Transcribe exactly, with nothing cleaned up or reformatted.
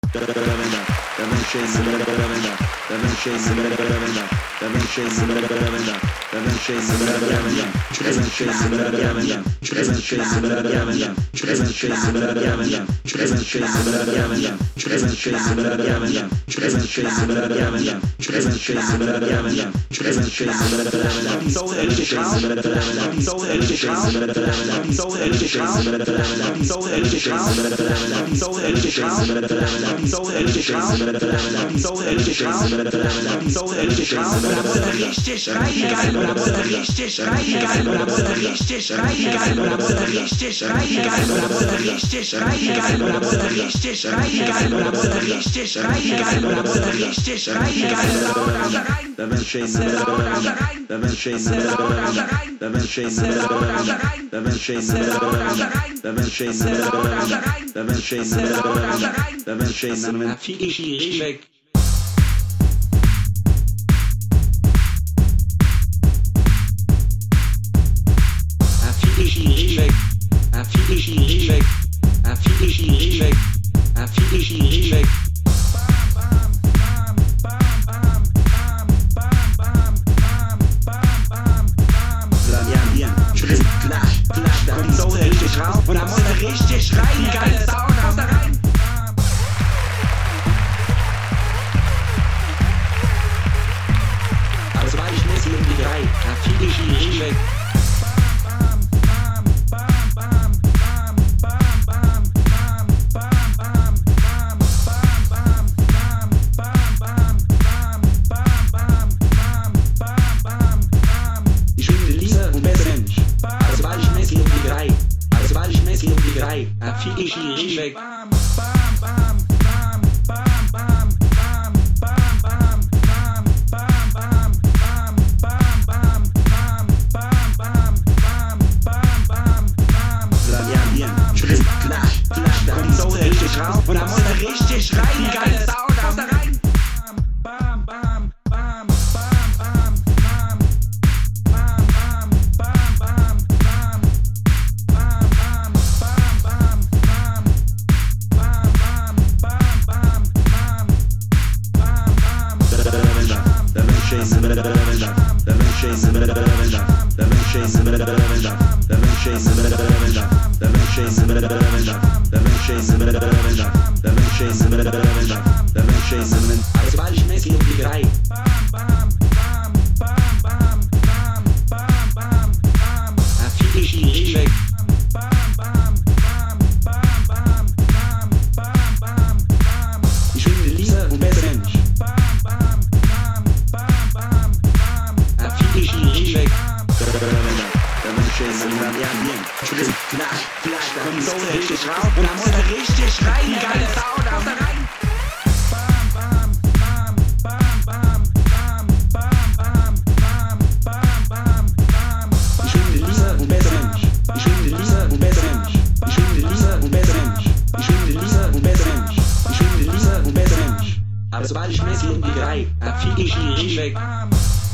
Richtig rein, geil, oder wurde richtig rein, geil, oder wurde richtig rein, geil, oder wurde richtig rein, geil, oder wurde richtig rein, geil, oder wurde richtig rein, geil, oder wurde richtig rein, geil, oder wurde richtig rein, geil, lauter rein, lauter rein, lauter rein, lauter rein, lauter rein, Fiji weg. Und da muss er richtig rein, geile Sound, haut da rein. Aber so war ich Messi um die drei, da fiel ich ihn richtig weg. Ich finde lieber und besser Mensch, aber so war ich Messi um die drei. Weil ich Messi um die drei, da fiel ich ihn richtig weg. Schritt, klatsch, klatsch, da kommt so richtig raus. Und da muss er richtig rein, geile Sound, haut da rein. Also weil ich Messi um die drei. Da fiel ich ihn richtig weg. Ich finde lieber und besser Mensch. Da fiel ich ihn richtig weg. Schritt, klatsch, klatsch, da kommt so richtig raus. Und da muss er richtig rein, geile Sound, haut da rein. Ich finde lieber und besser Mensch. Ich finde lieber und besser Mensch. Ich finde lieber und besser Mensch. Ich finde lieber und besser Mensch. Ich finde lieber und besser Mensch. Aber sobald ich Messi um die drei, da fiel ich ihn richtig weg.